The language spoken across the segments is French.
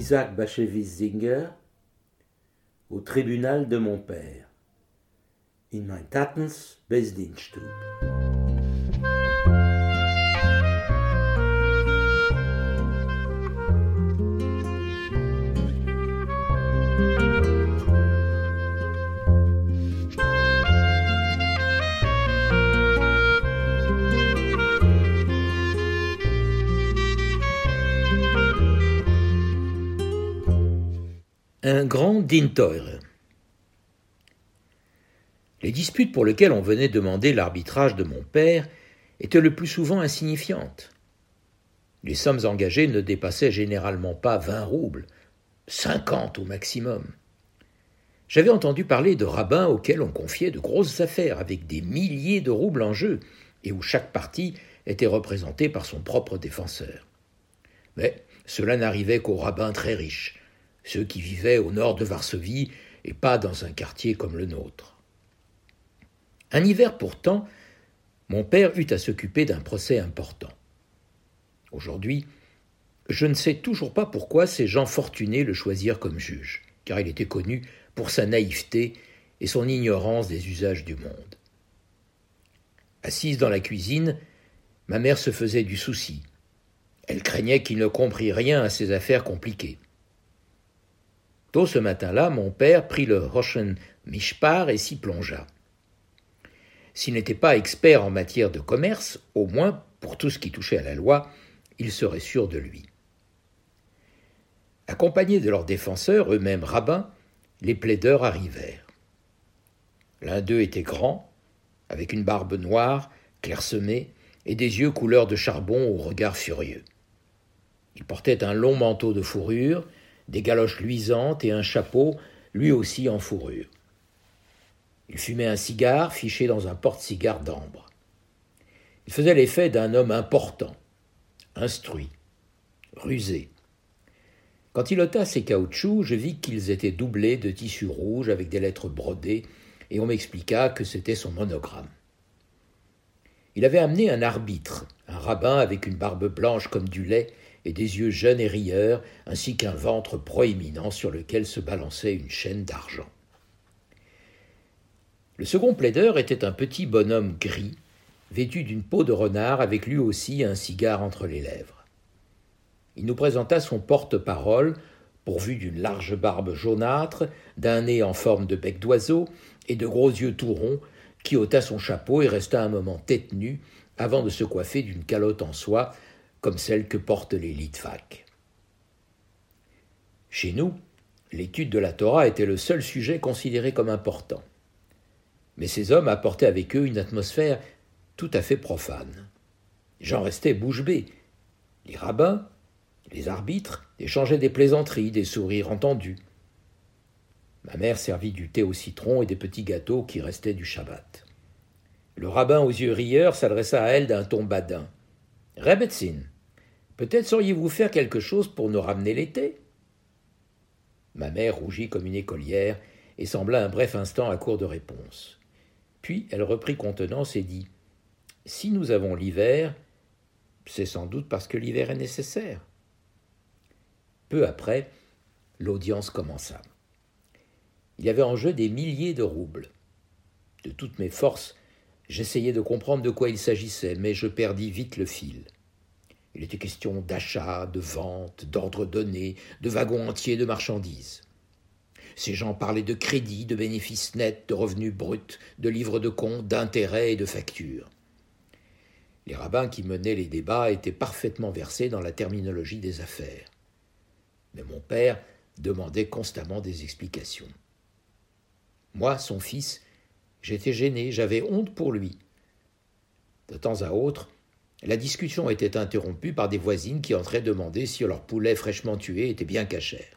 Isaac Bashevis Singer, au tribunal de mon père, in mein Tatens Besdienststube. Un grand Dinteure. Les disputes pour lesquelles on venait demander l'arbitrage de mon père étaient le plus souvent insignifiantes. Les sommes engagées ne dépassaient généralement pas 20 roubles, 50 au maximum. J'avais entendu parler de rabbins auxquels on confiait de grosses affaires avec des milliers de roubles en jeu et où chaque partie était représentée par son propre défenseur. Mais cela n'arrivait qu'aux rabbins très riches, ceux qui vivaient au nord de Varsovie et pas dans un quartier comme le nôtre. Un hiver pourtant, mon père eut à s'occuper d'un procès important. Aujourd'hui, je ne sais toujours pas pourquoi ces gens fortunés le choisirent comme juge, car il était connu pour sa naïveté et son ignorance des usages du monde. Assise dans la cuisine, ma mère se faisait du souci. Elle craignait qu'il ne comprît rien à ces affaires compliquées. Tôt ce matin-là, mon père prit le Rochen Mishpar et s'y plongea. S'il n'était pas expert en matière de commerce, au moins, pour tout ce qui touchait à la loi, il serait sûr de lui. Accompagnés de leurs défenseurs, eux-mêmes rabbins, les plaideurs arrivèrent. L'un d'eux était grand, avec une barbe noire, clairsemée, et des yeux couleur de charbon au regard furieux. Il portait un long manteau de fourrure, des galoches luisantes et un chapeau, lui aussi en fourrure. Il fumait un cigare fiché dans un porte-cigare d'ambre. Il faisait l'effet d'un homme important, instruit, rusé. Quand il ôta ses caoutchoucs, je vis qu'ils étaient doublés de tissu rouge avec des lettres brodées, et on m'expliqua que c'était son monogramme. Il avait amené un arbitre, un rabbin avec une barbe blanche comme du lait et des yeux jeunes et rieurs, ainsi qu'un ventre proéminent sur lequel se balançait une chaîne d'argent. Le second plaideur était un petit bonhomme gris, vêtu d'une peau de renard avec lui aussi un cigare entre les lèvres. Il nous présenta son porte-parole, pourvu d'une large barbe jaunâtre, d'un nez en forme de bec d'oiseau et de gros yeux tout ronds, qui ôta son chapeau et resta un moment tête nue avant de se coiffer d'une calotte en soie, comme celle que portent les litvaks. Chez nous, l'étude de la Torah était le seul sujet considéré comme important. Mais ces hommes apportaient avec eux une atmosphère tout à fait profane. J'en restais bouche bée. Les rabbins, les arbitres, échangeaient des plaisanteries, des sourires entendus. Ma mère servit du thé au citron et des petits gâteaux qui restaient du Shabbat. Le rabbin aux yeux rieurs s'adressa à elle d'un ton badin. « Rebetzin, peut-être sauriez-vous faire quelque chose pour nous ramener l'été ?» Ma mère rougit comme une écolière et sembla un bref instant à court de réponse. Puis elle reprit contenance et dit « Si nous avons l'hiver, c'est sans doute parce que l'hiver est nécessaire. » Peu après, l'audience commença. Il y avait en jeu des milliers de roubles. De toutes mes forces, j'essayais de comprendre de quoi il s'agissait, mais je perdis vite le fil. Il était question d'achat, de vente, d'ordres donnés, de wagons entiers de marchandises. Ces gens parlaient de crédit, de bénéfices nets, de revenus bruts, de livres de compte, d'intérêts et de factures. Les rabbins qui menaient les débats étaient parfaitement versés dans la terminologie des affaires. Mais mon père demandait constamment des explications. Moi, son fils, j'étais gêné, j'avais honte pour lui. De temps à autre, la discussion était interrompue par des voisines qui entraient demander si leur poulet fraîchement tué était bien cachère.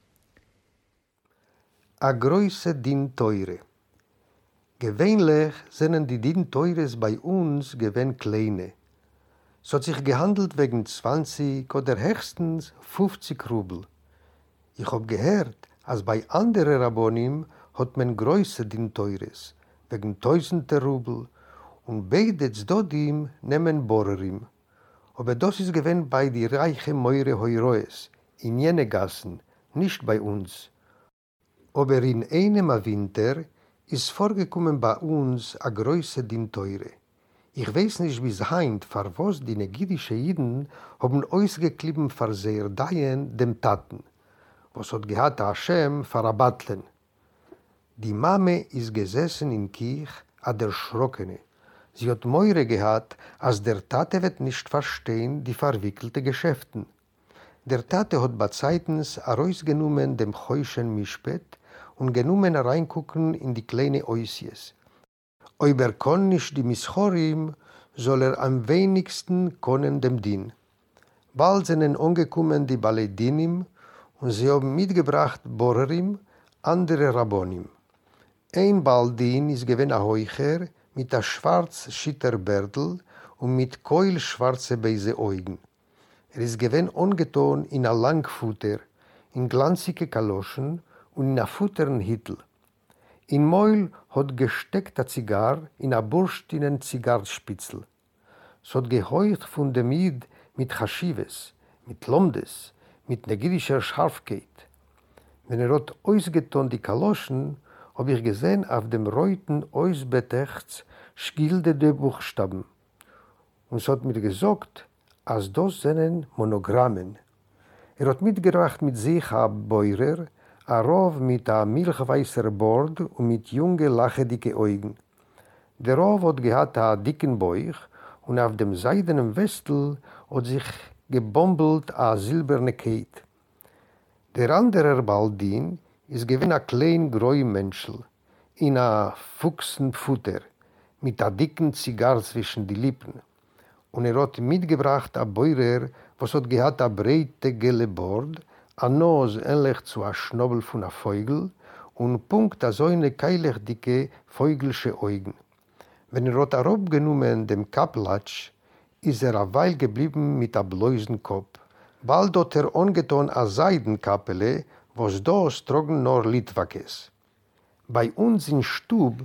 A große Dinteure. Gewöhnlich sind die Dinteures bei uns gewinn kleine. So hat sich gehandelt wegen 20 oder höchstens 50 Rubel. Ich hab gehört, als bei anderen Rabbonim hat man größere Dinteures, wegen tausender Rubel, und beide Zdodim nehmen Borerim. Aber das ist gewinn bei die reichen Meure Heuroes, in jene Gassen, nicht bei uns. Aber in einem Winter ist vorgekommen bei uns a größe Din Teure. Ich weiß nicht bis heint, vor was die negidische Jiden haben ausgeklieben vor sehr Dayen dem Taten, was hat gehad Hashem vor a Battlen. Die Mame ist gesessen in Kirch, a der Schrockene. Sie hat Meure gehad, als der Tate wird nicht verstehen die verwickelte Geschäften. Der Tate hat bezeitens herausgenommen dem Heuschen Mischpet und genommen reingucken in die kleine Oisies. Aber kann nicht die Mischorim, soll am wenigsten können dem Din. Bald sind angekommen die Baledinim und sie haben mitgebracht Borerim, andere Rabbonim. Ein Baldin ist gewesen ein Heucher mit einem schwarzen Schitterbärtel und mit keulschwarze beise Augen. Ist gewesen angetan in ein Langfutter, in glanzige Kaloschen und in einem futteren Hittel. In Meul hat gesteckt a Zigar in a burstinen Zigarrspitzel. Es hat geheucht von dem Jid mit Chashives, mit Lomdes, mit negidischer Scharfkeit. Wenn hat ausgetan die Kaloschen, hab ich gesehen auf dem reuten Ausbetechts schilderte Buchstaben. Und es hat mir gesagt, als das seien Monogrammen. Hat mitgebracht mit sich a Beurer, a Rov mit a milchweißer Bord und mit junge, lachedicke Augen. Der Rov hat gehabt a dicken Bauch und auf dem seidenen Westel hat sich gebombelt a silberne Keit. Der andere Baldin ist gewinn a klein groi Menschel, in a Fuchsenfutter, mit a dicken Zigarr zwischen die Lippen. Und hat mitgebracht a Beurer, was hat gehabt a breite gelle Bord, a Nose ähnlich zu a Schnobel von a Vogel und Punkt a so eine keilig dicke Vogelsche Augen. Wenn hat abgenommen dem Kaplatsch, ist a Weil geblieben mit a bläusen Kopf. Bald hat angetan a Seidenkappele, was das trocken nur Litwakes. Bei uns in Stub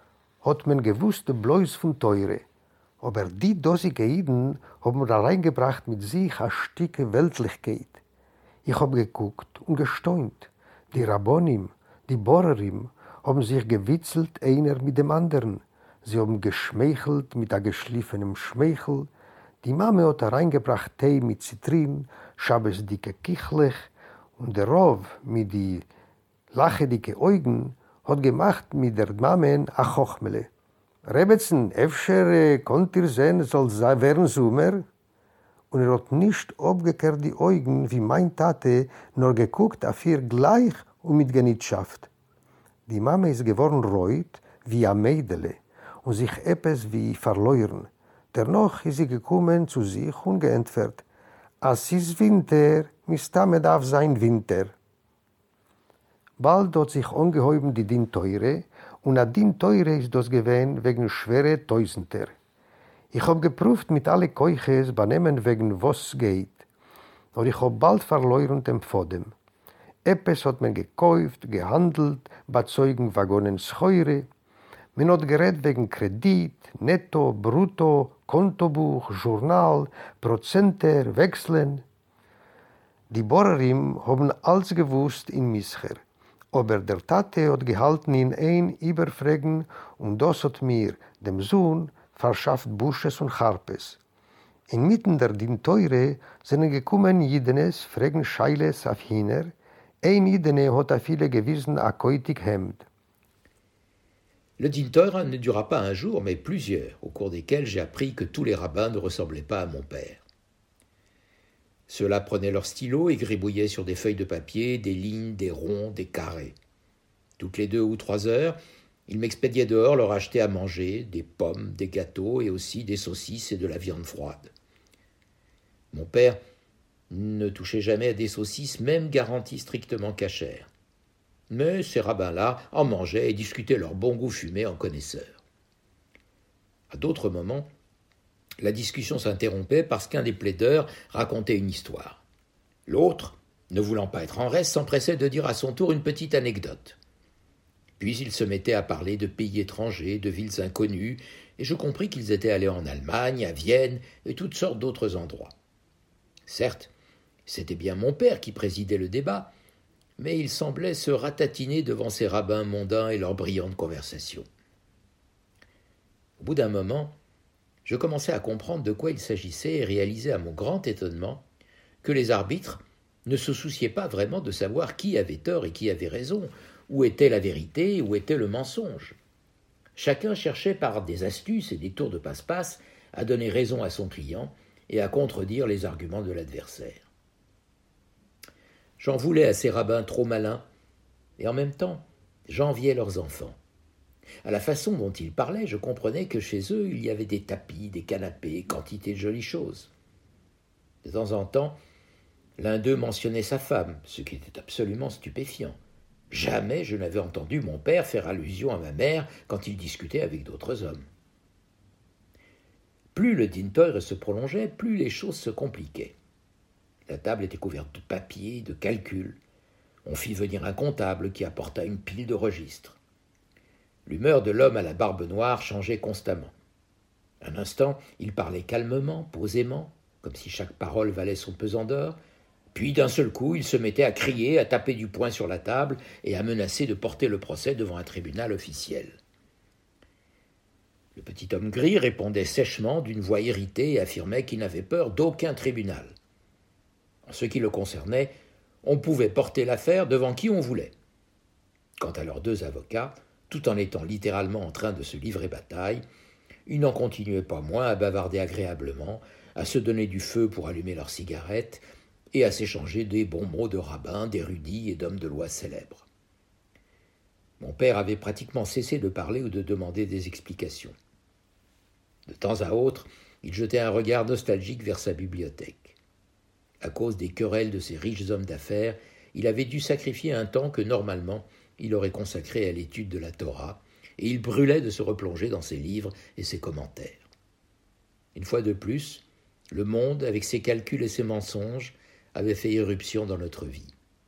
hat man gewusst bloß von Teure, aber die dosige Jiden haben reingebracht mit sich a Stücke Weltlichkeit. Ich hab geguckt und gestaunt. Die Rabbonim, die Borerim haben sich gewitzelt einer mit dem anderen. Sie haben geschmeichelt mit a geschliffenem Schmeichel. Die Mame hat reingebracht Tee mit Zitrin, schabesdicke Kichlech und der Rov mit die lachedicke Augen hat gemacht mit der Mame a Chochmele. Rebetzen, öfter konnt ihr sehen, soll werden Sommer? Und hat nicht abgekehrt die Augen wie mein Tate, nur geguckt auf ihr gleich und mit Genitschaft. Die Mama ist geworden reut wie ein Mädele und sich etwas wie verloren. Dennoch ist sie gekommen zu sich und geantwortet, als ist Winter, Mistame darf sein Winter. Bald hat sich angehäuben die Din Teure und a Din Teure ist das gewesen wegen schwere Tausender. Ich hab geprüft mit alle Keuches benehmen wegen was geht, aber ich hab bald verloren dem Pfodem. Eppes hat man gekauft, gehandelt, bezeugen Waggonen Scheure. Man hat geredet wegen Kredit, Netto, Brutto, Kontobuch, Journal, Prozenter, Wechseln. Die Borerim haben alles gewusst in Mischer, aber der Tate hat gehalten in ein Überfragen und das hat mir, dem Sohn, verschafft Busches und Harpes. Inmitten der Din Teure sind gekommen Jidenes, fragen Scheiles auf Hiner, ein Jidene hat a viele gewissen a koitig Hemd. Le Din Teure ne dura pas un jour, mais plusieurs, au cours desquels j'ai appris que tous les rabbins ne ressemblaient pas à mon père. Ceux-là prenaient leur stylo et gribouillaient sur des feuilles de papier, des lignes, des ronds, des carrés. Toutes les 2 ou 3 heures, ils m'expédiaient dehors leur acheter à manger, des pommes, des gâteaux et aussi des saucisses et de la viande froide. Mon père ne touchait jamais à des saucisses, même garanties strictement cachères. Mais ces rabbins-là en mangeaient et discutaient leur bon goût fumé en connaisseurs. À d'autres moments, la discussion s'interrompait parce qu'un des plaideurs racontait une histoire. L'autre, ne voulant pas être en reste, s'empressait de dire à son tour une petite anecdote. Puis ils se mettaient à parler de pays étrangers, de villes inconnues, et je compris qu'ils étaient allés en Allemagne, à Vienne et toutes sortes d'autres endroits. Certes, C'était bien mon père qui présidait le débat, mais il semblait se ratatiner devant ces rabbins mondains et leurs brillantes conversations. Au bout d'un moment, je commençais à comprendre de quoi il s'agissait et réalisais à mon grand étonnement que les arbitres ne se souciaient pas vraiment de savoir qui avait tort et qui avait raison, où était la vérité, où était le mensonge. Chacun cherchait par des astuces et des tours de passe-passe à donner raison à son client et à contredire les arguments de l'adversaire. J'en voulais à ces rabbins trop malins, et en même temps, j'enviais leurs enfants. À la façon dont ils parlaient, je comprenais que chez eux, il y avait des tapis, des canapés, quantité de jolies choses. De temps en temps, l'un d'eux mentionnait sa femme, ce qui était absolument stupéfiant. Jamais je n'avais entendu mon père faire allusion à ma mère quand il discutait avec d'autres hommes. Plus le Din Torah se prolongeait, plus les choses se compliquaient. La table était couverte de papiers, de calculs. On fit venir un comptable qui apporta une pile de registres. L'humeur de l'homme à la barbe noire changeait constamment. Un instant, il parlait calmement, posément, comme si chaque parole valait son pesant d'or, puis d'un seul coup, il se mettait à crier, à taper du poing sur la table et à menacer de porter le procès devant un tribunal officiel. Le petit homme gris répondait sèchement d'une voix irritée et affirmait qu'il n'avait peur d'aucun tribunal. En ce qui le concernait, on pouvait porter l'affaire devant qui on voulait. Quant à leurs deux avocats, tout en étant littéralement en train de se livrer bataille, ils n'en continuaient pas moins à bavarder agréablement, à se donner du feu pour allumer leurs cigarettes et à s'échanger des bons mots de rabbins, d'érudits et d'hommes de loi célèbres. Mon père avait pratiquement cessé de parler ou de demander des explications. De temps à autre, il jetait un regard nostalgique vers sa bibliothèque. À cause des querelles de ces riches hommes d'affaires, il avait dû sacrifier un temps que, normalement, il aurait consacré à l'étude de la Torah, et il brûlait de se replonger dans ses livres et ses commentaires. Une fois de plus, le monde, avec ses calculs et ses mensonges, avait fait irruption dans notre vie.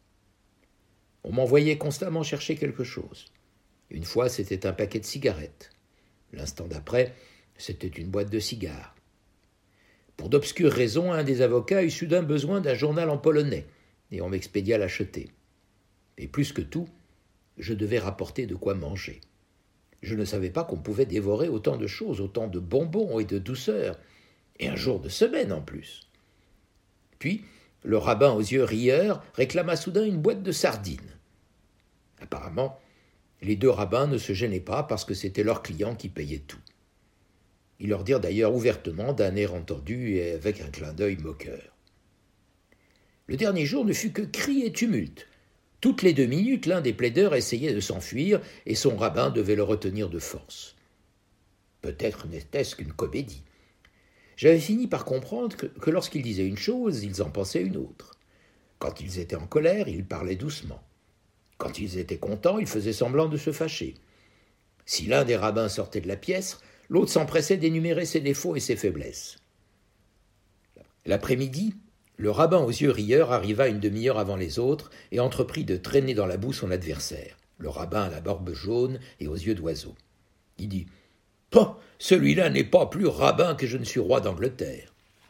On m'envoyait constamment chercher quelque chose. Une fois, c'était un paquet de cigarettes. L'instant d'après, c'était une boîte de cigares. Pour d'obscures raisons, un des avocats eut soudain besoin d'un journal en polonais, et on m'expédia l'acheter. Et plus que tout, je devais rapporter de quoi manger. Je ne savais pas qu'on pouvait dévorer autant de choses, autant de bonbons et de douceurs, et un jour de semaine en plus. Puis, le rabbin aux yeux rieurs réclama soudain une boîte de sardines. Apparemment, les deux rabbins ne se gênaient pas parce que c'était leurs clients qui payaient tout. Ils leur dirent d'ailleurs ouvertement, d'un air entendu et avec un clin d'œil moqueur. Le dernier jour ne fut que cris et tumulte. Toutes les 2 minutes, l'un des plaideurs essayait de s'enfuir et son rabbin devait le retenir de force. Peut-être n'était-ce qu'une comédie. J'avais fini par comprendre que lorsqu'ils disaient une chose, ils en pensaient une autre. Quand ils étaient en colère, ils parlaient doucement. Quand ils étaient contents, ils faisaient semblant de se fâcher. Si l'un des rabbins sortait de la pièce, l'autre s'empressait d'énumérer ses défauts et ses faiblesses. L'après-midi, le rabbin aux yeux rieurs arriva une demi-heure avant les autres et entreprit de traîner dans la boue son adversaire, le rabbin à la barbe jaune et aux yeux d'oiseau. Il dit « Pah, celui-là n'est pas plus rabbin que je ne suis roi d'Angleterre. »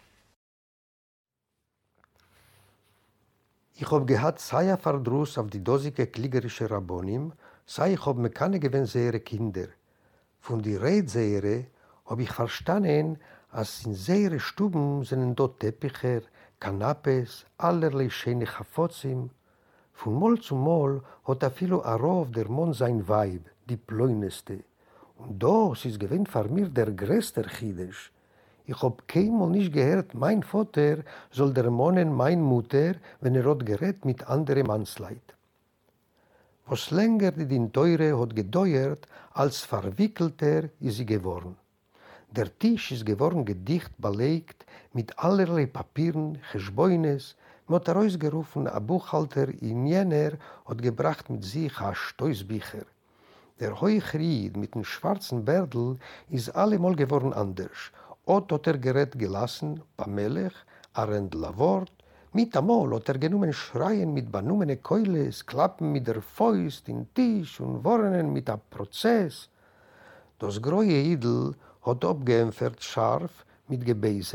Ich hab gehad sehr verdruss auf die dosige kliegerische Rabbonim, sei ich hab me keine gewinnsehre Kinder. Von die Redsehre hab ich verstanden, als in sehre Stuben sind dort Teppicher, Kanapes, allerlei schöne Chafozim. Von Mol zu Mol hat afilo a Rov der Mon sein Weib, die Pläuneste. Und das ist gewinnt für mir der größte Chidesch. Ich hab keinmal nicht gehört, mein Vater soll der Monen mein Mutter, wenn hat gerät mit anderen Mannsleid. Was länger die Din Teure hat gedauert, als verwickelter ist sie geworden. Der Tisch ist geworden gedicht belegt mit allerlei Papieren, Geschbäunes, mit herausgerufen a Buchhalter in jener hat gebracht mit sich a Stoßbücher. Der Heuchried mit dem schwarzen Bärdl ist allemal geworden anders. Ot hat gerät gelassen, Pamelech, a Rendlavort, mit amol hat genommen Schreien mit benumene Keules, Klappen mit der Fäust in Tisch und Warnen mit a Prozess. Das große Idel hat abgeämpfert scharf mit Gebeiser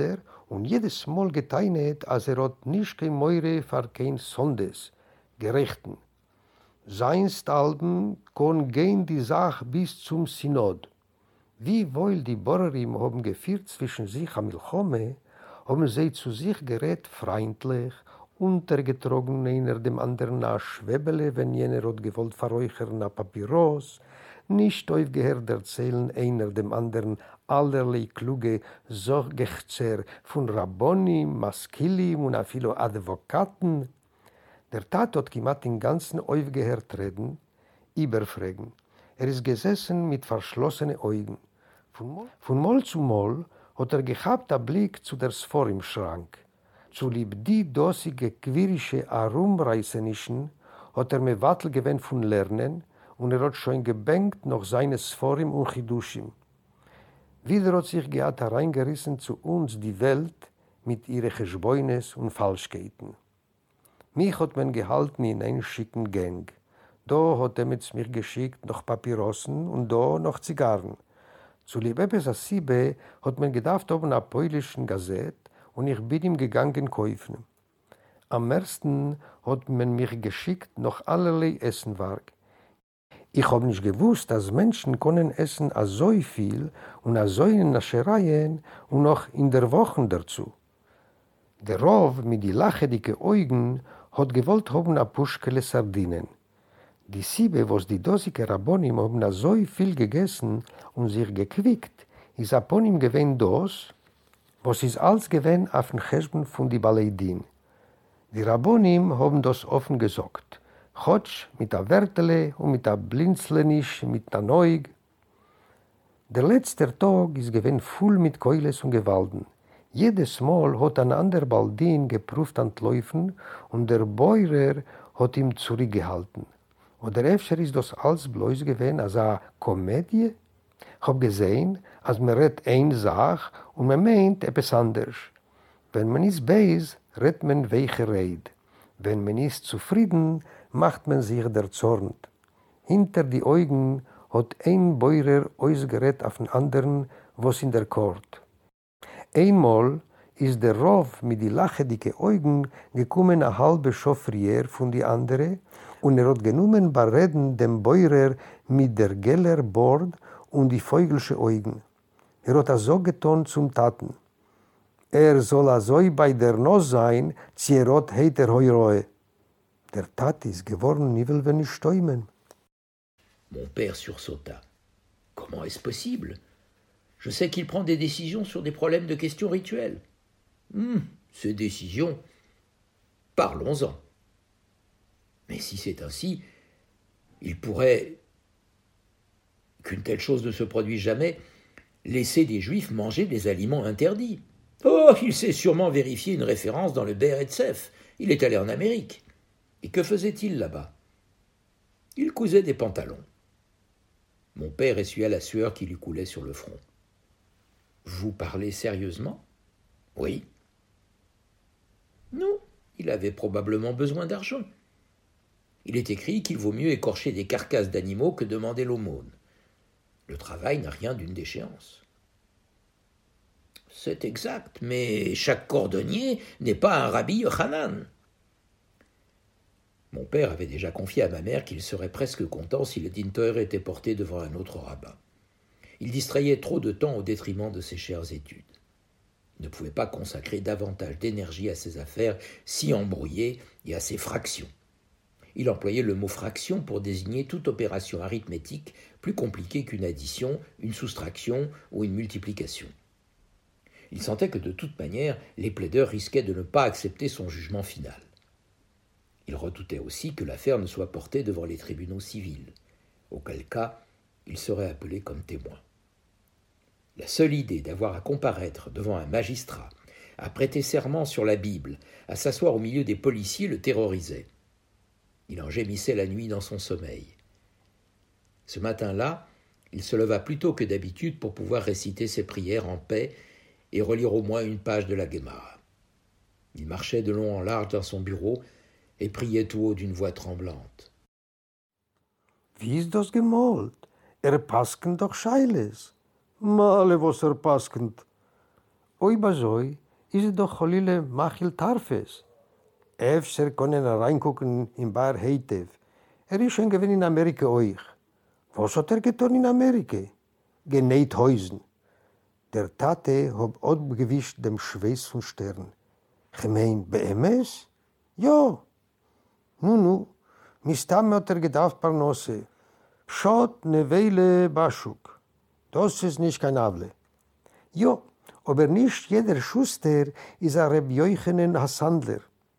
und jedes Mal geteinet, als hat nicht kein Meure für kein Sondes, Gerechten. Seinst Alben kon gehen die Sache bis zum Synod. Wie wohl die Borerim haben geführt zwischen sich am Milchome, haben sie zu sich gerät freundlich, untergetrogen einer dem anderen a Schwebele, wenn jener hat gewollt verräuchern a Papyros, nicht aufgehört erzählen einer dem anderen allerlei kluge Sorgechzer von Rabbonim, Maskilim und a viele Advokaten. Der Tat hat gemacht den ganzen aufgehört reden, überfragen. Ist gesessen mit verschlossenen Augen. Von Mal zu Mal hat gehabt einen Blick zu der Sfor im Schrank. Zu lieb die dosige quirische Herumreißenischen hat mir Wattel gewöhnt von Lernen und hat schon gebänkt noch seine Sforim und Chidushim. Wieder hat sich gehabt hereingerissen zu uns die Welt mit ihren Geschbäunes und Falschkeiten. Mich hat man gehalten in einen schicken Gang. Da hat mit mir geschickt noch Papyrossen und da noch Zigarren. Zu Liebebes Asibe hat man gedacht oben einer polnischen Gazette und ich bin ihm gegangen kaufen. Am ersten hat man mich geschickt noch allerlei Essenwerk. Ich habe nicht gewusst, dass Menschen können essen so viel und so in Naschereien und noch in der Woche dazu. Der Rov mit die lachedicke Augen hat gewollt haben a Puschkele Sardinen. Die Siebe, was die dosige Rabbonim haben so viel gegessen und sich gequickt, ist upon ihm gewesen das, was ist alles gewesen auf den Cheshben von die Baleidin. Die Rabbonim haben das offen gesagt. Chotsch mit der Wärtele und mit der Blinzlenisch, mit der Neug. Der letzte Tag ist gewesen voll mit Keules und Gewalten. Jedes Mal hat ein anderer Baldin geprüft an Läufen und der Bäuer hat ihm zurückgehalten. Oder öfter ist das alles bloß gewesen als eine Komödie? Ich habe gesehen, als man redet eine Sache und man meint etwas anderes. Wenn man ist böse, redet man welche Rede. Wenn man ist zufrieden, macht man sich der Zorn. Hinter die Augen hat ein Bäuer ausgerät auf den anderen, was in der Kort. Einmal ist der Rov mit die lachedicke Augen gekommen eine halbe Stunde früher von die andere und hat genommen bei Reden dem Bäuer mit der geller Bord und die vögelsche Augen. Hat so getan zum Taten. Soll so bei der Nos sein, zierot heiter heuroe. Der Tat ist geworden, nie will wenn ich stäumen. Mon père sursauta. Comment est-ce possible? Je sais qu'il prend des décisions sur des problèmes de questions rituelles. Ces décisions, parlons-en. Mais si c'est ainsi, il pourrait, qu'une telle chose ne se produise jamais, laisser des Juifs manger des aliments interdits. Oh, il s'est sûrement vérifié une référence dans le Be'er Etzef. Il est allé en Amérique. Et que faisait-il là-bas? Il cousait des pantalons. Mon père essuya la sueur qui lui coulait sur le front. Vous parlez sérieusement? Oui. Non, il avait probablement besoin d'argent. Il est écrit qu'il vaut mieux écorcher des carcasses d'animaux que demander l'aumône. Le travail n'a rien d'une déchéance. C'est exact, mais chaque cordonnier n'est pas un rabbi Yochanan. Mon père avait déjà confié à ma mère qu'il serait presque content si le Din Torah était porté devant un autre rabbin. Il distrayait trop de temps au détriment de ses chères études. Il ne pouvait pas consacrer davantage d'énergie à ses affaires si embrouillées et à ses fractions. Il employait le mot fraction pour désigner toute opération arithmétique plus compliquée qu'une addition, une soustraction ou une multiplication. Il sentait que de toute manière, les plaideurs risquaient de ne pas accepter son jugement final. Il redoutait aussi que l'affaire ne soit portée devant les tribunaux civils, auquel cas il serait appelé comme témoin. La seule idée d'avoir à comparaître devant un magistrat, à prêter serment sur la Bible, à s'asseoir au milieu des policiers le terrorisait. Il en gémissait la nuit dans son sommeil. Ce matin-là, il se leva plus tôt que d'habitude pour pouvoir réciter ses prières en paix et relire au moins une page de la Gemara. Il marchait de long en large dans son bureau et priait tout haut d'une voix tremblante. Wie ist das gemalt? Paskend doch Scheiles. Male was paskend. Oi basoi, ist es doch Cholile Machil Tarfes. Efter können reingucken in Bar Heitev. Ist schon gewesen in Amerika euch. Was hat getan in Amerika? Genäht Häusen. Der Tate hat abgewischt dem Schweiß von Stern. Ich mein, BMS? Ja. Nu, mistam hat gedacht Parnose. Schot ne Weile Baschuk. Das ist nicht kein Able. Ja, aber nicht jeder Schuster ist ein Reb Jochenen Hassandler.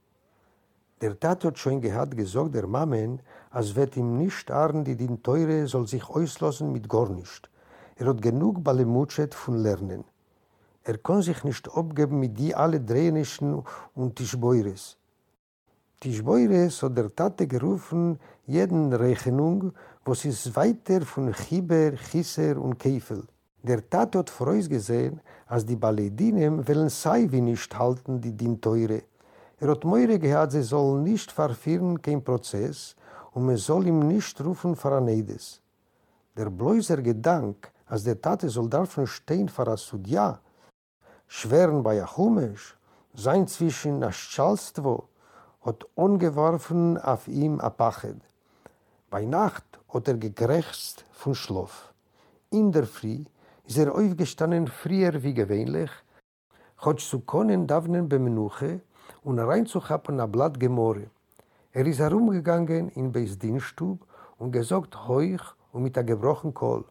Der Tat hat schon gesagt, der Mamen, als wird ihm nicht arren, die den Teure soll sich auslassen mit gar nicht. Hat genug Balemutschet von Lernen. Kann sich nicht abgeben mit die alle Drehnischen und Tischbeures. Tischbeures hat der Tate gerufen, jeden Rechnung, was ist weiter von Chiber, Chisser und Keifel. Der Tate hat vorausgesehen, als die Baledinem wollen sei wie nicht halten, die Teure. Hat Meure gehabt, sie sollen nicht verführen, kein Prozess, und man soll ihm nicht rufen für ein Eides. Der bloßer Gedanke, als der Tate soll davon stehen für ein Sudja, schweren bei Achumesh, sein zwischen Aschalstvo, hat ungeworfen auf ihm a Pachet. Bei Nacht hat gekrächzt von Schlaf. In der Früh ist aufgestanden früher wie gewöhnlich, hat zu können davnen bemenuche und reinzuhappen a Blatt Gemore. Ist herumgegangen in Beis Dienststub und gesagt heuch und mit a gebrochen Kohl.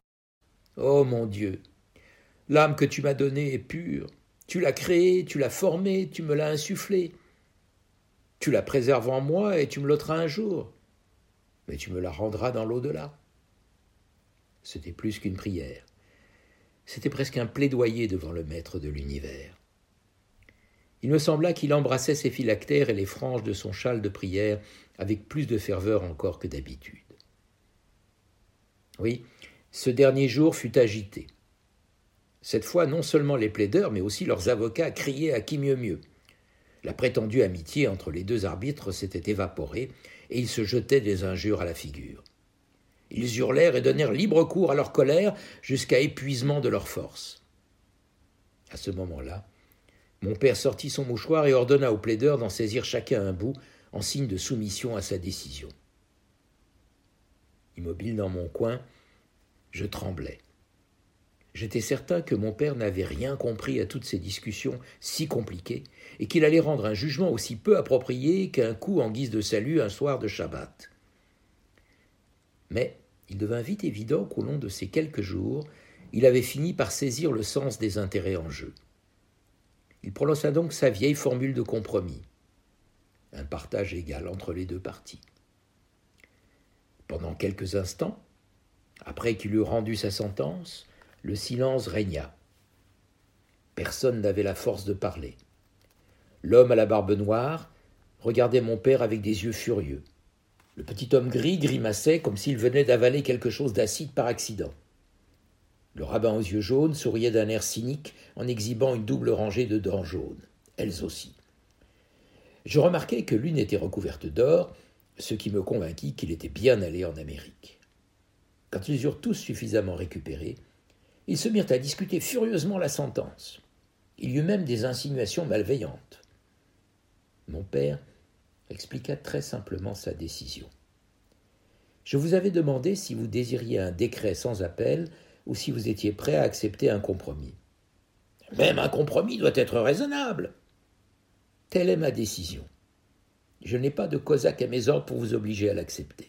Oh mon Dieu, l'âme que tu m'as donnée est pure. Tu l'as créée, tu l'as formée, tu me l'as insufflée. Tu la préserves en moi et tu me l'ôteras un jour. Mais tu me la rendras dans l'au-delà. C'était plus qu'une prière. C'était presque un plaidoyer devant le maître de l'univers. Il me sembla qu'il embrassait ses phylactères et les franges de son châle de prière avec plus de ferveur encore que d'habitude. Oui, ce dernier jour fut agité. Cette fois, non seulement les plaideurs, mais aussi leurs avocats criaient à qui mieux mieux. La prétendue amitié entre les deux arbitres s'était évaporée et ils se jetaient des injures à la figure. Ils hurlèrent et donnèrent libre cours à leur colère jusqu'à épuisement de leurs forces. À ce moment-là, mon père sortit son mouchoir et ordonna aux plaideurs d'en saisir chacun un bout en signe de soumission à sa décision. Immobile dans mon coin, je tremblais. J'étais certain que mon père n'avait rien compris à toutes ces discussions si compliquées et qu'il allait rendre un jugement aussi peu approprié qu'un coup en guise de salut un soir de Shabbat. Mais il devint vite évident qu'au long de ces quelques jours, il avait fini par saisir le sens des intérêts en jeu. Il prononça donc sa vieille formule de compromis, un partage égal entre les deux parties. Pendant quelques instants, après qu'il eut rendu sa sentence, le silence régna. Personne n'avait la force de parler. L'homme à la barbe noire regardait mon père avec des yeux furieux. Le petit homme gris grimaçait comme s'il venait d'avaler quelque chose d'acide par accident. Le rabbin aux yeux jaunes souriait d'un air cynique en exhibant une double rangée de dents jaunes, elles aussi. Je remarquai que l'une était recouverte d'or, ce qui me convainquit qu'il était bien allé en Amérique. Quand ils eurent tous suffisamment récupéré, ils se mirent à discuter furieusement la sentence. Il y eut même des insinuations malveillantes. Mon père expliqua très simplement sa décision. Je vous avais demandé si vous désiriez un décret sans appel ou si vous étiez prêt à accepter un compromis. Même un compromis doit être raisonnable. Telle est ma décision. Je n'ai pas de cosaque à mes ordres pour vous obliger à l'accepter.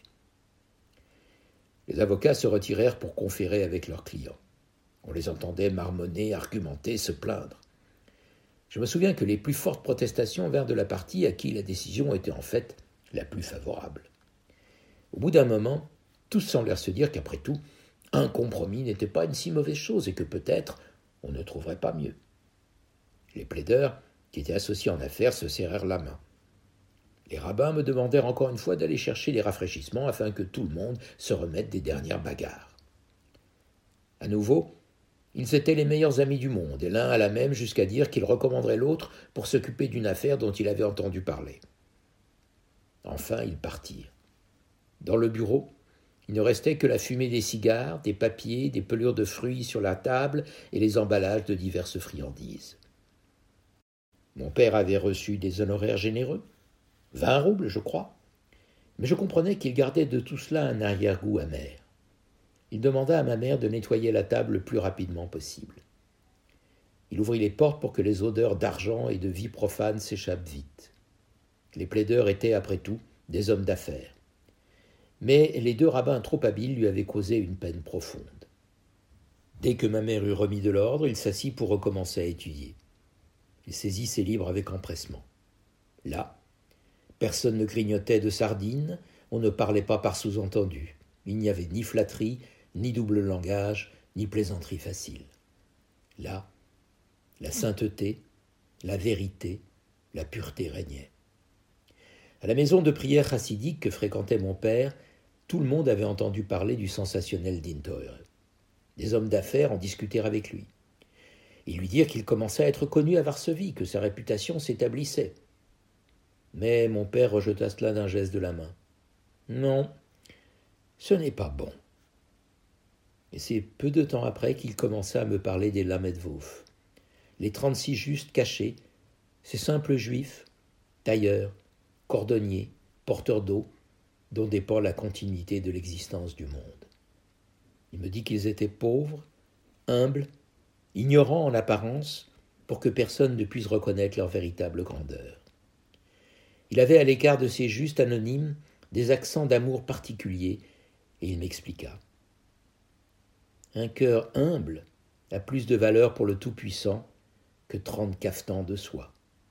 Les avocats se retirèrent pour conférer avec leurs clients. On les entendait marmonner, argumenter, se plaindre. Je me souviens que les plus fortes protestations vinrent de la partie à qui la décision était en fait la plus favorable. Au bout d'un moment, tous semblèrent se dire qu'après tout, un compromis n'était pas une si mauvaise chose et que peut-être on ne trouverait pas mieux. Les plaideurs, qui étaient associés en affaires, se serrèrent la main. Les rabbins me demandèrent encore une fois d'aller chercher les rafraîchissements afin que tout le monde se remette des dernières bagarres. À nouveau, ils étaient les meilleurs amis du monde, et l'un alla même jusqu'à dire qu'il recommanderait l'autre pour s'occuper d'une affaire dont il avait entendu parler. Enfin, ils partirent. Dans le bureau, il ne restait que la fumée des cigares, des papiers, des pelures de fruits sur la table et les emballages de diverses friandises. Mon père avait reçu des honoraires généreux, 20 roubles, je crois, mais je comprenais qu'il gardait de tout cela un arrière-goût amer. Il demanda à ma mère de nettoyer la table le plus rapidement possible. Il ouvrit les portes pour que les odeurs d'argent et de vie profane s'échappent vite. Les plaideurs étaient, après tout, des hommes d'affaires. Mais les deux rabbins trop habiles lui avaient causé une peine profonde. Dès que ma mère eut remis de l'ordre, il s'assit pour recommencer à étudier. Il saisit ses livres avec empressement. Là, personne ne grignotait de sardines, on ne parlait pas par sous-entendu. Il n'y avait ni flatterie, ni double langage, ni plaisanterie facile. Là, la sainteté, la vérité, la pureté régnaient. À la maison de prière chassidique que fréquentait mon père, tout le monde avait entendu parler du sensationnel Dintour. Des hommes d'affaires en discutèrent avec lui. Ils lui dirent qu'il commençait à être connu à Varsovie, que sa réputation s'établissait. Mais mon père rejeta cela d'un geste de la main. « Non, ce n'est pas bon. » Et c'est peu de temps après qu'il commença à me parler des Lamedvouf, les 36 justes cachés, ces simples juifs, tailleurs, cordonniers, porteurs d'eau, dont dépend la continuité de l'existence du monde. Il me dit qu'ils étaient pauvres, humbles, ignorants en apparence, pour que personne ne puisse reconnaître leur véritable grandeur. Il avait à l'égard de ces justes anonymes des accents d'amour particuliers, et il m'expliqua. Un cœur humble a plus de valeur pour le Tout-Puissant que 30 cafetans de soie.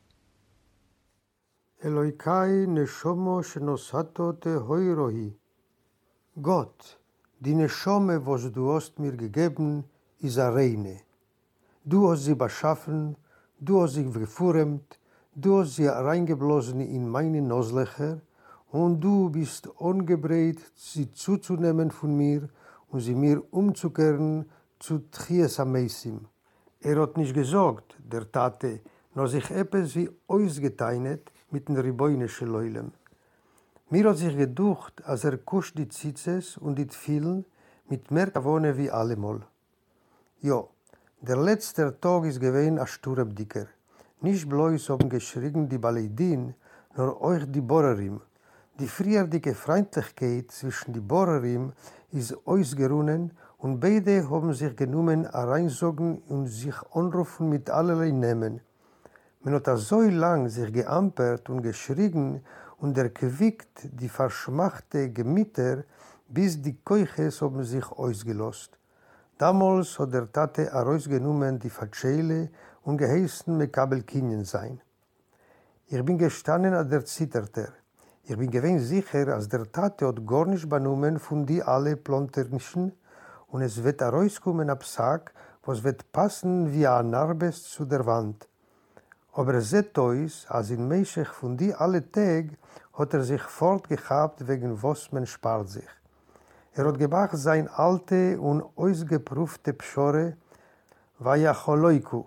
Eloikai neshomo shenosato te hoirohi. Gott, die Neshome, was du hast mir gegeben, ist reine. Du hast sie beschaffen, du hast sie geformt, du hast sie reingeblasen in meine Nozlöcher und du bist ungebreit, sie zuzunehmen von mir und sie mir umzukehren zu Tchias Amesim. Hat nicht gesagt, der Tate, noch sich etwas wie ausgeteinet mit den Riboine Leulem. Mir hat sich gedacht, als kuscht die Zitzes und die Tfilen mit mehr Kavone wie allemal. Ja, der letzte Tag ist gewesen ein Sturebdicker. Nicht bloß haben geschrien die Baleidin, nur euch die Borerim. Die frierdicke Freundlichkeit zwischen die Borerim ist ausgerunnen und beide haben sich genommen hereinsogen und sich anrufen mit allerlei Namen. Man hat so lang sich geampert und geschrien und erquickt die verschmachte Gemüter, bis die Keuches haben sich ausgelost. Damals hat der Tate herausgenommen die Fatschele und geheißen Mekabel Kinyen sein. Ich bin gestanden an der Zitterter. Ich bin gewinn sicher, als der Tate hat gar nicht benommen von die alle Planternischen und es wird herauskommen ab Sack, was wird passen wie ein Narbes zu der Wand. Aber es seht euch, als in Meischech von die alle Tag hat sich fortgehabt, wegen was man spart sich. Hat gemacht sein alte und ausgeprüfte Pschore, Vayacholoiku.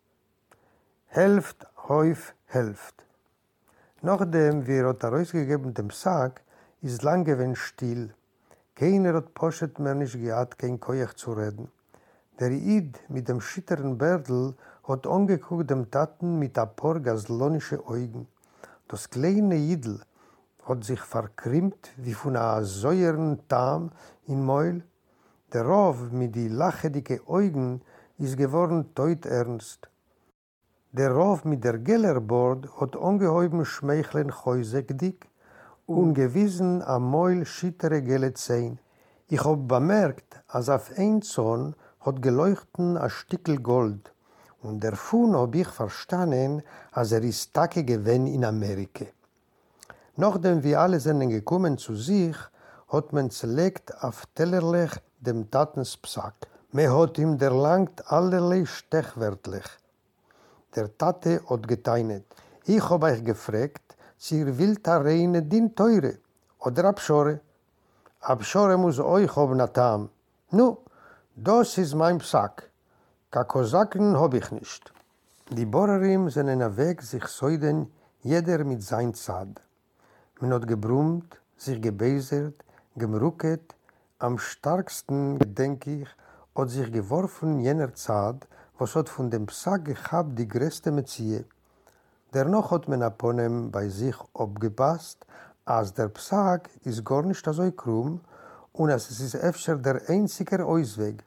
Hälft, Häuf, Hälft. Nachdem wir hat herausgegeben dem Sack, ist lang gewesen still. Keiner hat Poschet mehr nicht gehabt, kein Koyach zu reden. Der Id mit dem schitteren Bärdl hat angeguckt dem Taten mit ein paar gaslonische Augen. Das kleine Idl hat sich verkrimmt wie von einem säuren Tam in Mäul. Der Rauf mit die lachedicke Augen ist geworden teuternst. Der Rauf mit der Gellerbord hat ungeheuben Schmeicheln häusegdick und gewissen am Mäul schittere gelle Zehn. Ich hab bemerkt, als auf ein Zorn hat geleuchten ein Stickel Gold. Und davon hab ich verstanden, als ist Tage gewesen in Amerika. Nachdem wir alle sind gekommen zu sich, hat man zerlegt auf Tellerlech dem Tatens Psack. Man hat ihm erlangt allerlei Stechwörtlich. Der Tate hat geteinet. Ich hab euch gefragt, sie will da reine din teure oder Abschore. Abschore muss euch haben atam. Nu, das ist mein Psack. Ka Kosaken hab ich nicht. Die Borerim sind in der Weg sich säuden, jeder mit sein Zad. Man hat gebrummt, sich gebesert, gemrucket. Am starksten, denke ich, hat sich geworfen jener Zad, was hat von dem Psack gehabt die größte Metzie. Dennoch hat man Aponem bei sich abgepasst, als der Psag ist gar nicht so krumm und es ist öfter der einzige Ausweg.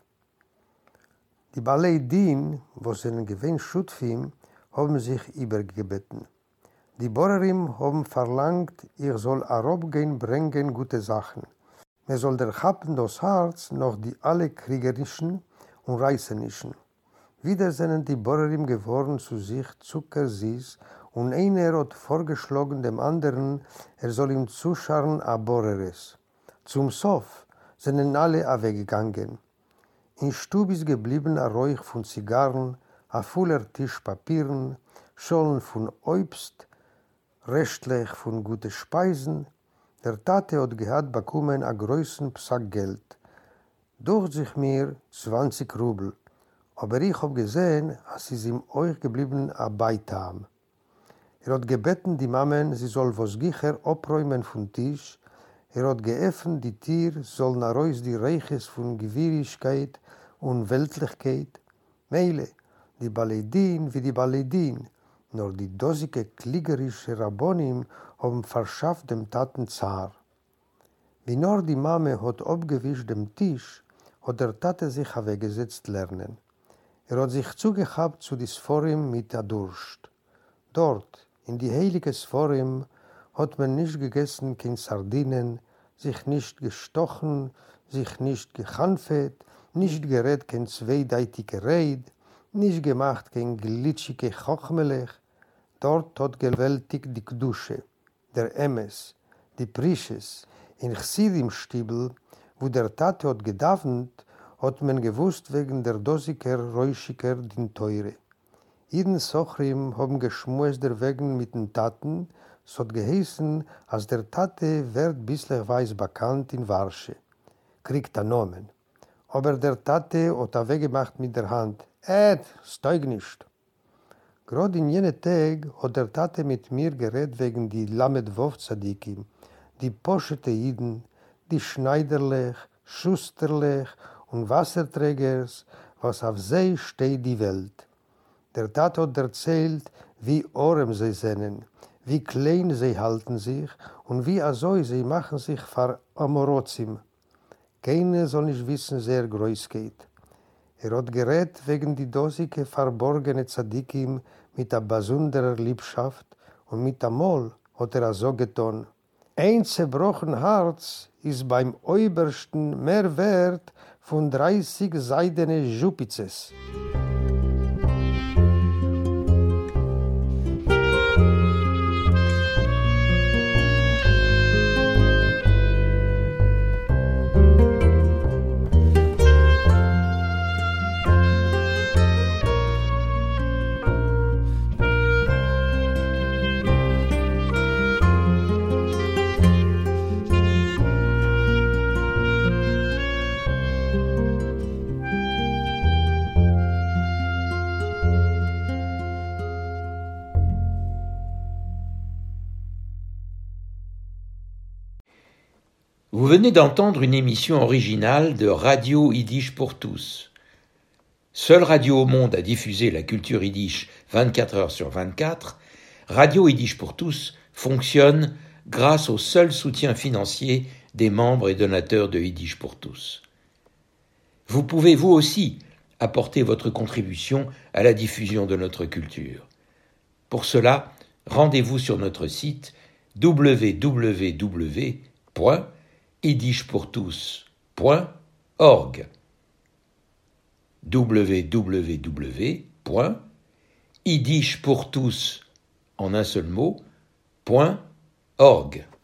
Die Balei Din, wo sie einen Gewinn Schutfim, haben sich übergebeten. Die Borerim haben verlangt, ich soll herabgehen bringen gute Sachen. Man soll der Happen das Herz noch die alle kriegerischen und reißenischen. Wieder sind die Borerim geworden zu sich zuckersüß und einer hat vorgeschlagen dem anderen, soll ihm zuscharren a Boreres. Zum Sof sind alle weggegangen. In Stub ist geblieben ein Räuch von Zigarren, ein voller Tisch Papieren, Schollen von Obst, restlich von guten Speisen. Der Tate hat gehabt bekommen einen größeren Psack Geld. Durch sich mir 20 Rubel. Aber ich habe gesehen, es ist ihm euch geblieben ein Beitam. Hat gebeten die Mammen, sie soll was Gicher abräumen vom Tisch. Hat geöffnet die Tür, soll nach Reus die Reiches von Gewirrigkeit und Weltlichkeit. Meile, die Baledin wie die Baledin, nur die dosige kliegerische Rabbonim haben verschafft dem Taten Zar. Wie nur die Mame hat abgewischt dem Tisch, hat der Tate sich weggesetzt lernen. Hat sich zugehabt zu des Forum mit der Durst. Dort, in die heilige Forum, hat man nicht gegessen, kein Sardinen, sich nicht gestochen, sich nicht gehanfet, nicht gerät kein zweideitige Reit, nicht gemacht kein glitschige Chochmelech. Dort hat gewältigt die Gdusche, der Emes, die Prisches. In Chsidim-Stiebel, wo der Tate hat gedavnt, hat man gewusst wegen der Dosiker, Räuschiker, den Teure. Jeden Sochrim haben geschmust der Wegen mit den Taten, es hat geheißen, als der Tate wird bislich weiß bekannt in Warsche. Kriegt er Nomen. Aber der Tate hat er weggemacht mit der Hand. Steig nicht. Gerade in jenem Tag hat der Tate mit mir geredet wegen die Lamed Wov Tzadikim, die Poschete Jiden, die Schneiderlech, Schusterlech und Wasserträgers, was auf sie steht die Welt. Der Tate hat erzählt, wie arm sie sind, wie klein sie halten sich und wie also sie machen sich vor Amorozim. Keiner soll nicht wissen, sehr groß geht. Hat geredet wegen die dosige verborgene Tzadikim mit der besonderer Liebschaft und mit der Mol hat so getan. Ein zerbrochen Herz ist beim Obersten mehr wert von 30 seidene Jupizes. Vous venez d'entendre une émission originale de Radio Yiddish pour tous. Seule radio au monde à diffuser la culture yiddish 24 heures sur 24, Radio Yiddish pour tous fonctionne grâce au seul soutien financier des membres et donateurs de Yiddish pour tous. Vous pouvez vous aussi apporter votre contribution à la diffusion de notre culture. Pour cela, rendez-vous sur notre site www.yiddishpourtous.org www.yiddishpourtous en un seul mot, .org